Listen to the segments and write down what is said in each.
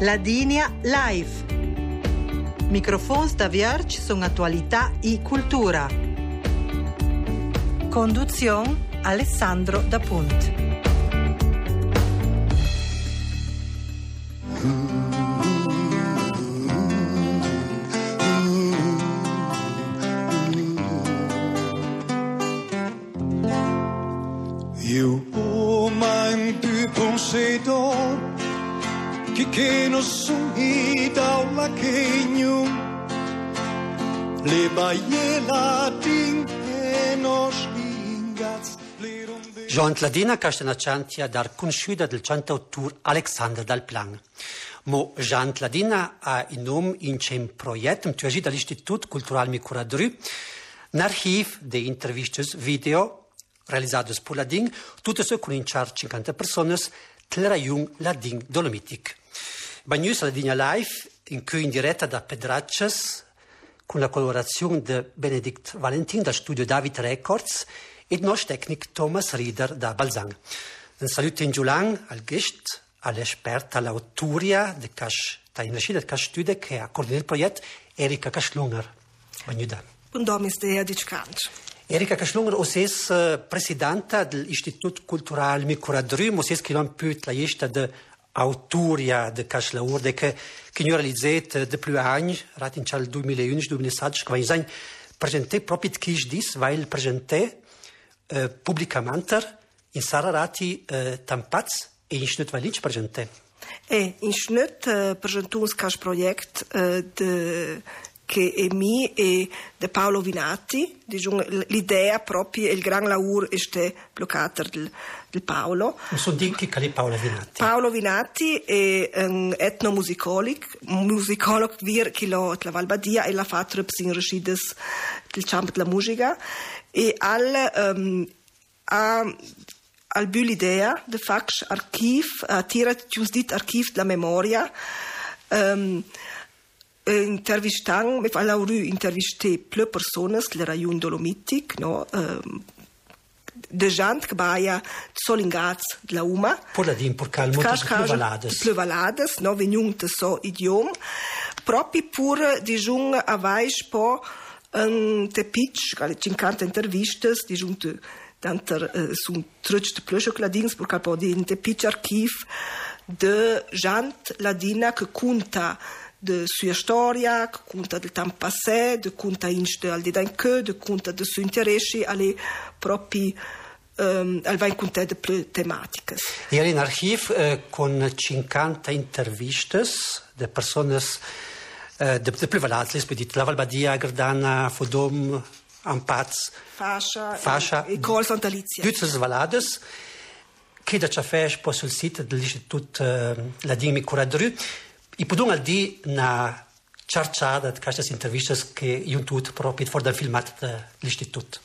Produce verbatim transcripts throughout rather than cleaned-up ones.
Ladinia Live. Microfons da Vierge sono attualità e cultura. Conduzione Alessandro Da Punt. Eu o mein Büpung se do che che no sumi da la kenyu le baiela ting e nos ingaz Jean Ladina Castanacciantia dar conosciuta del cantautor Alexander Dal Plan. Mo Jean Ladina ha in nome in un progetto tuagi dall'Istituto Cultural Micuradru, un archivo di interviste video realizzate per Ladin, tutte su cominciare cinquanta persone, del rayon Ladin Dolomitic. Bagnus Ladinia Live, in cui in diretta da Pedraccias, con la collaborazione di Benedict Valentin dal studio David Records e il nostro tecnico Thomas Rieder da Balzang. Un saluto in Giulan al guest, all'esperta, all'autoria di Cash, in recita del Cash Studio che ha coordinato il progetto, Erika Kaschlunger. Bagnuda. Un dom ist der Ditschkant. Erika Kaschlunger, osses uh, presidenta dell'Istituto Cultural Micuradru, osses che l'ha più la gesta de autoria de Kaschlaur, de che che noi realizzat de più anni, rat in cal duemilaundici duemilasedici, che vai presenté proprio kish dis, weil presenté uh, pubblicamente in Sararati uh, tampats e in Schnut Valinch presenté. E in Schnut uh, presentuns cash project uh, de che è mi e de Paolo Vinati, l'idea proprio, il gran lavoro è bloccato del, del Paolo. Non so di chi è Paolo Vinati. Paolo Vinati è un etnomusicologo, un musicologo vir che lo la Valbadia e l'ha fatto in recides del campo della musica e al um, ha al bu l'idea de fax archiv, a tira giustit archiv della memoria. Um, Intervistan, mi fa la ru intervisté ple personas del rayon Dolomitic, no, um, de gent che baia solingats de la Uma. Por la din, por cal moltes pleuvalades. Pleuvalades, no, veniunte so idiom. Propi pur dijung avais po un te pitch, cale cinquanta intervistes, dijung te danter uh, sun trutsch de plösche cladins, por cal po di un te pitch archiv de gent ladina che conta de sua storia, che conta del tempo passé, de conta inste al didanche, de conta de suoi interessi alle propri um, al vain conta de ple tematiche. Era in archiv eh, con cinquanta intervistes de personas eh, de, de prevalate, spedite la Valbadia, Gardana, Fodom, Ampaz, Fascia, Fascia e Col Santa Lizia. Tutte le valades che da ciafè po sul sito dell'Istituto eh, Ladin Micuradru. I podung al di na charciada de queste intervistas che io tut proprio for da filmat dell'Istituto.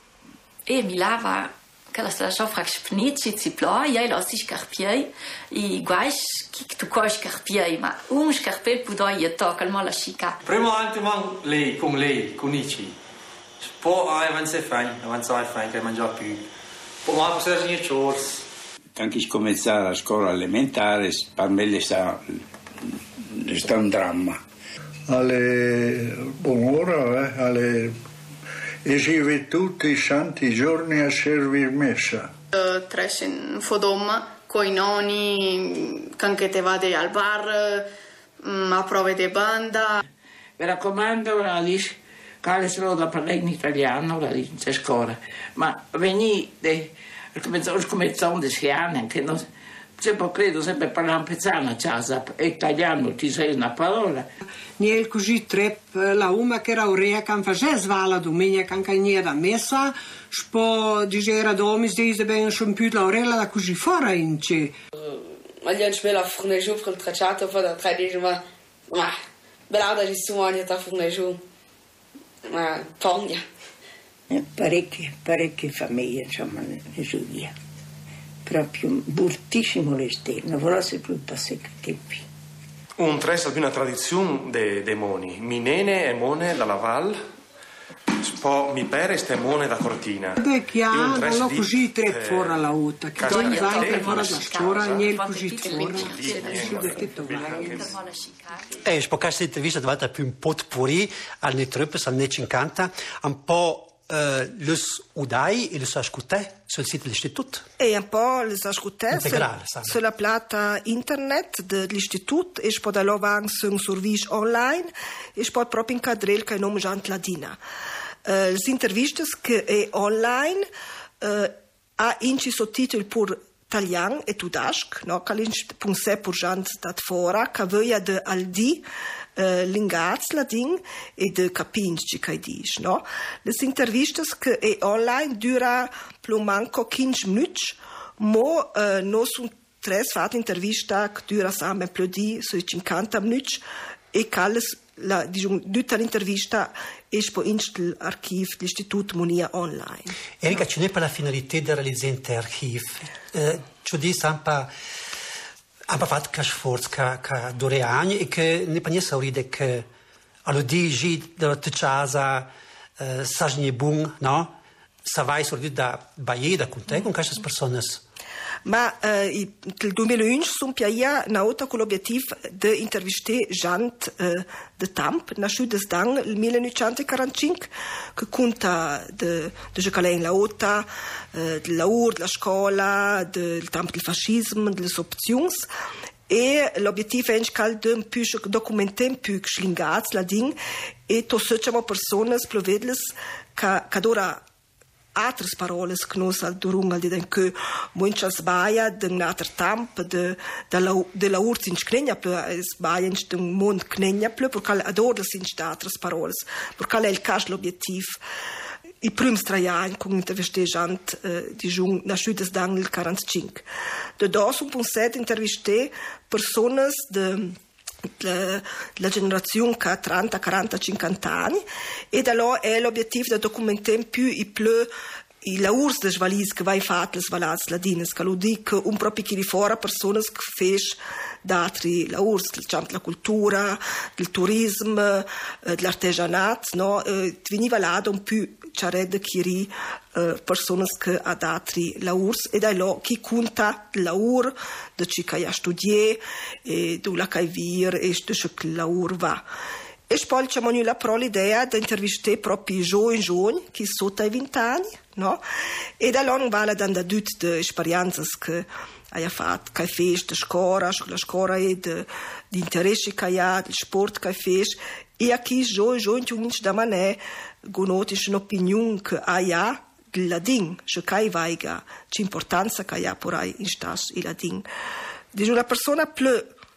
E mi lava che la sta so frax pnici ci plo, io lo si scarpiei, i guais che tu coi scarpiei, ma un scarpel pudo io to calmo la chica. Primo anche man lei con lei con ici. Po avanza fai, avanza fai che mangia più. Po ma per nie chores. Anche si comincia la scuola elementare, per me le sta sta un dramma. Alle buon'ora, eh, alle esive tutti i santi giorni a servir messa. Uh, Tres in Fodom, coi nonni, anche te vade al bar, um, a prove di banda. Mi raccomando, la dice, che solo da parlare in italiano, la dice in scuola, ma venite, cominciamo da sei anni, che non... Sempre credo sempre parlare pezzana a casa, e italiano ti sei una parola. Niel così trep la uma che era urea can face svala domenica can caniera messa, spo digera domis diese ben schon più la orella da così fuori in ce. Ma gli hanno spela fornegiù per il tracciato fa da tre dici ma ma belada ci sono anche da fornegiù. Ma pogna. Parecchie, parecchie famiglie insomma ne giù via. Proprio bruttissimo l'esterno, volesse più passare i tempi. Un tres di una tradizione de, de moni. Minene e mone dalla Val, po' mi pare stemone da cortina. De chiaro, non l'ho così tre fuori alla uta, che tu mi vai per fuori da scuola, niente così fuori. E spo questa intervista diventa più un potpourri al netrupes, al necinquanta, un po' Uh, les udai e les ascoltai sul sito dell'istituto. E un po' les ascoltai sulla plata internet dell'istituto e poi da là van su un servizio online e poi proprio in cadrel che nome Giantladina. Uh, le interviste che è online uh, ha inci sottotitoli pur italiano e tudasc, no? Che l'inci pur Giant dat fora, che voglia de aldi Uh, l'ingaz la ding e de capinci che dice, no? Le interviste che è online dura più manco quindici minuti, ma uh, non sono tre fatte interviste che dura sempre più di cinquanta minuti e che la diciamo tutta l'intervista è poi in l'archivio dell'istituto Monia online. Erika, ce n'è per la finalità di realizzare l'archivio? Uh, ci dice sempre abbiamo fatto che sforzo che, che dura anni e che ne penso sauride che all'odigi della casa eh, sa ne buon, no? Sa vai sauride da Baie con te con queste persone. Ma eh, il duemilaundici sono piaia una volta con l'obiettivo di intervistare gente eh, de Tamp, nasciuta nel millenovecentoquarantacinque, che conta di giocare la volta, eh, del lavoro, della scuola, del tempo del fascismo, delle opzioni. E l'obiettivo è anche di più documentare più schlingati la ding e to facciamo persone per vederle che che ora altre parole che noi durung di den che mucha sbaia de un altro tempo de de la de la urti in scregna più sbaia in un mondo scregna più perché adoro sin altre parole perché è il caso l'obiettivo i primi tre anni con intervisteggianti eh, di giung nasciuti nel quarantacinque. Da da sono pensate interviste persone de La, la generazione che ha trenta, quaranta, cinquanta anni e da là è l'obiettivo di documentare più i più i lavori delle valise che vai fatti le valise ladine che lo dico un proprio chi di fuori persone che fanno da altri lavori della cultura del turismo dell'artigianato no eh, veniva là un più c'era da chi Uh, persone che ha altri lavori e da là chi conta il lavoro da chi che ha studiato e dove che vive e da ciò che il lavoro va e poi c'è la pro l'idea di intervistare proprio i giovani giovani che sono sotto i venti anni no? E da là non vale da tutte le esperienze che hai fatto che hai fatto la scuola la scuola e di interessi che hai del sport che hai fatto e a chi i giovani giovani cominciano da manè conoscono un'opinione che hai la ding, che kai vaiga, c'importanza che ha por ai in stas il ladin. Di una persona più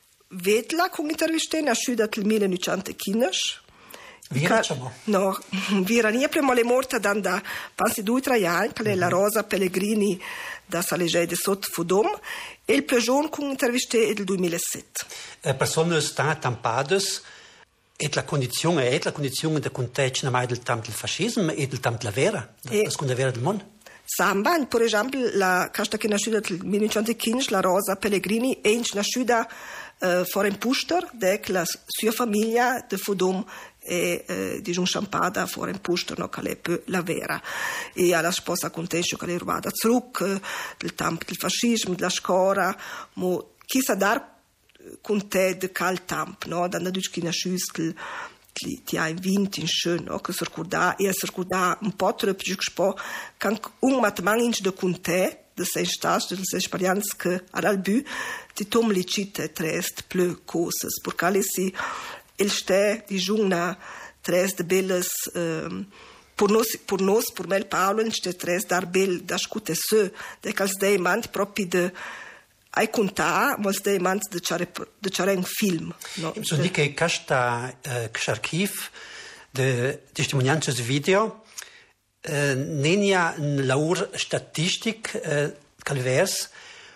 vedla con interviste nasciuta nel millenovecentoquindici. Vira diciamo. No, vira nie prima le morta da passi due tre anni, che è la Rosa Pellegrini da Salegei de Sot Fudom e il più giovane con interviste del duemilasette. Eh, persone stanno tampades e la condizione è la condizione del contesto mai del tempo del fascismo e del tempo della vera, della seconda vera del mondo. Samba, per esempio, la casta che è nasciuta nel millenovecentoquindici, la Rosa Pellegrini, è nasciuta uh, fuori in Puster, che la sua famiglia di Fudom è uh, di un sciampada fuori in Puster, no, che è più la vera. E alla sposa contesto che è rubata zurück, uh, del tempo del fascismo, della scuola, ma chi sa dar con te de cal tamp, no? Da duc chi nasciuti ti, ti hai vinto in schön, no? Che si ricorda e si ricorda un po' troppo giù spo che un matman in de con te de sei stas de sei esperienze che all'albu ti tom li cite trest più cose perché le si il ste di giuna trest de belles um, per nos per nos per me Paolo in ste trest dar bel da scute se de cals dei mant proprio de hai conta, ma stai mans de c'are de c'are un film, no? So di che questa uh, archiv de testimonianze video uh, nenia laur statistic uh, calvers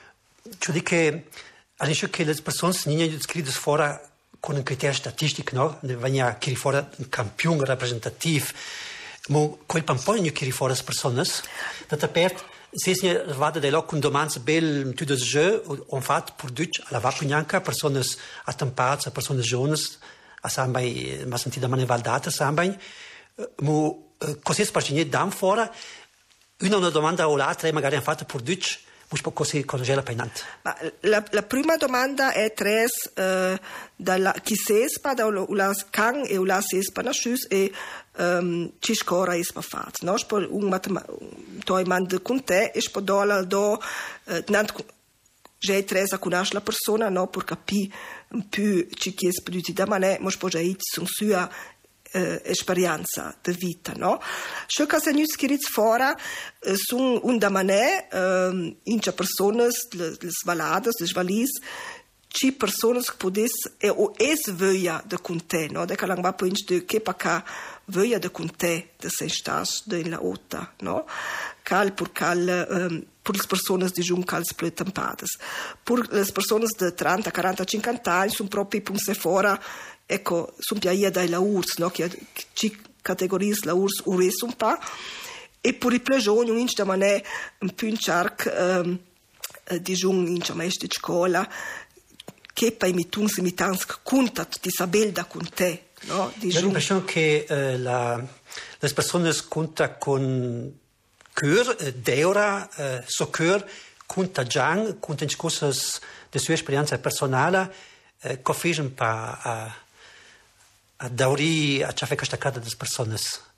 so di che all'inizio che le persone nenia scritte fora con un criterio statistico, no? Venia che fora un campione rappresentativo, ma quel pampogno che fora le persone da tapert se ne vada de loc un domans bel tu de jeu on fat pour duc alla vacunanca personas attampats personas jones a sambai ma sentida mane valdata sambai mu uh, così spargine dan fuori, una una domanda o l'altra magari hanno fatto per Deutsch, ma così conosce la painante. Ma la, la prima domanda è tres uh, dalla chi sespa da la can e la sespa na schus e um, ci scora is pa fat, no? Spo un matema toi mand con te e spo dola do uh, nant j'ai tres a conoscere la persona, no, per capire un più ci chies più da mané, ma spo già son sua Uh, esperienza di vita, no? Ciò che se nus chirit fora uh, sun un da mané uh, incha personas le, le svaladas, le svalis ci personas che podes e o es vöia de con te, no? De calang va po inch de che pa ca vöia de con te de se stas de in la ota, no? Cal pur cal um, pur le personas di jun cal split tampades. Pur le personas de trenta, quaranta, cinquanta anni sun proprio punse fora. Ecco, sono piaia dai laurs, no? Che ci categoris laurs ures un pa, e per i plegioni un inch da manè un più in charc um, di giun in maestri di scuola che poi mi tun si mi tansk contat di sabel da con te, no? Di Ho l'impressione che eh, la, le persone conta con cœur, eh, deura, eh, so cœur, conta giang, conta in cose della sua esperienza personale, eh, che un pa a a dauri a ciò che sta accadendo alle persone.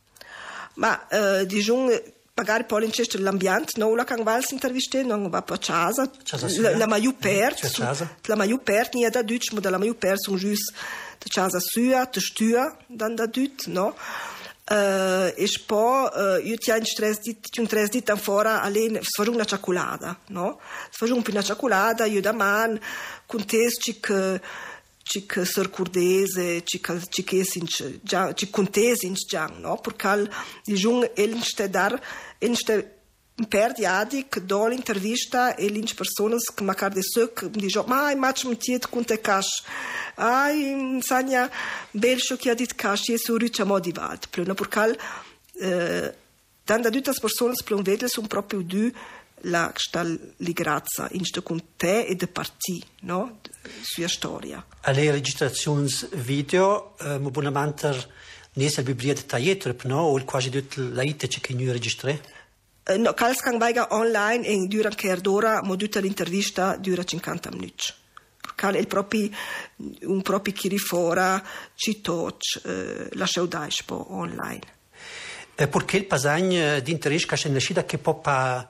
Ma uh, diciamo magari poi in questo l'ambiente no la can vals interviste non va per casa la, la maiu pert la maiu pert nie da Deutsch ma la maiu pert sono gius de casa sua de stua dan da Deutsch no uh, e poi uh, io ti in stress dit un stress dit fora allen fa una cioccolata no fa un una cioccolata io da man con testi che cic surcurdese cic cic esinch già cic contesinch già no perché di jung elnste dar elnste perdiadik do l'intervista e l'inch personas che macar de sec di jo mai match mtiet con te cash ai sania bel che ha dit cash e su richa modivat pleno perché eh, dan da tutte personas plon vedes un proprio du la stal ligrazza in sto con te e de parti no sua storia alle registrazioni video eh, mo bonamanter nesa biblia dettagliata no o quasi tut laite che noi registré uh, no cals kan vaiga online e dura che d'ora mo tutta l'intervista dura cinquanta minuti perché il proprio un proprio chi rifora ci touch uh, la saudade po online e perché il passaggio di interesse che c'è nascita che poppa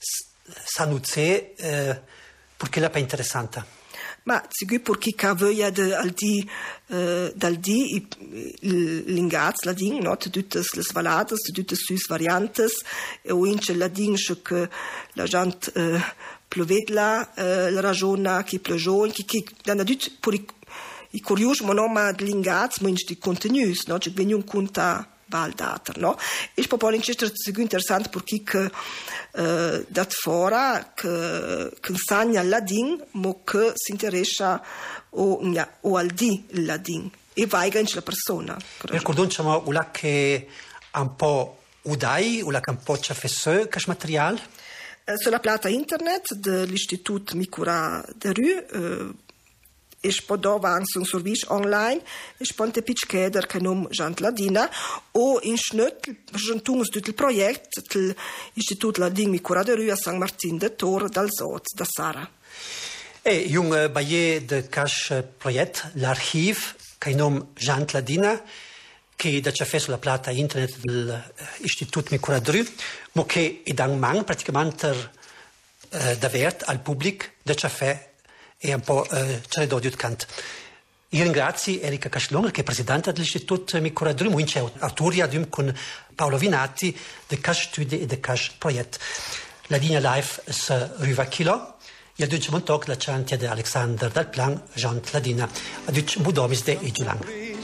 sanuzze eh, perché la pa interessante ma sicur perché ca voglia de al di uh, dal di l'ingaz la ding no tutte le svaladas tutte sus variantes e o ince la ding che la gente uh, plovedla uh, la ragiona che plegion che che dan adut per i, i curiosi ma no ma l'ingaz ma ince di contenuti no che veniun conta valdater no e proprio in questo è interessante perché che uh, dat fora che che insegna il ladin ma che si interessa o o al di il ladin e vai in la persona ricordiamo ula che un po' udai ula che un po' c'è fesso che materiale uh, sulla plata internet dell'Istituto Micura de Rue uh, e spodova anche un servizio online e sponte pitchkeder che nom Jant Ladina o in schnut juntungs dut il projekt l'Istitut Ladin Micura de Rue a San Martin de Tor dal Soz da Sara. E jung baie de cash projekt l'archiv che nom Jant Ladina che da c'è fesso la plata internet dell'Istitut Micura de Rue mo che edan man praticamente eh, davvert al pubblic da c'è fe e un po' eh, c'è da cant. Io ringrazio Erika Caslon, che è presidente dell'Istituto Micura de Rue, e autoria con Paolo Vinati del Cash Studi e del Cash Projekt. La linea live se riva chilo. Il dunque montok la chantia di Alexander dal plan Jean Ladina. Aduc budomis de Ijulang.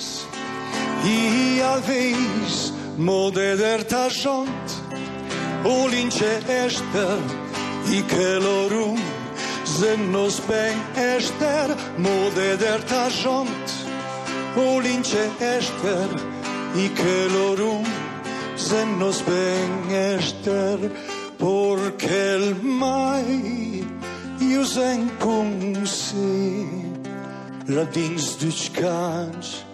I alveis modeder ta jont o lince ester i kelorum Zen nos ben ester mode der tajont o lince ester i kelorum zen nos ben ester porque el mai io zen cum si la dings duch kans